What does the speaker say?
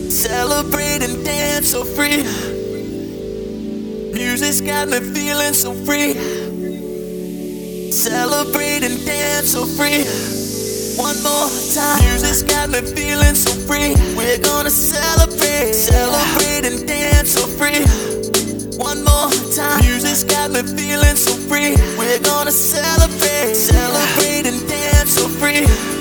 Celebrate and dance so free. Music's got me feeling so free. Celebrate and dance so free. One more time. Music's got me feeling so free. We're gonna celebrate. Celebrate and dance so free. One more time. Music's got me feeling so free. We're gonna celebrate. Celebrate and dance so free.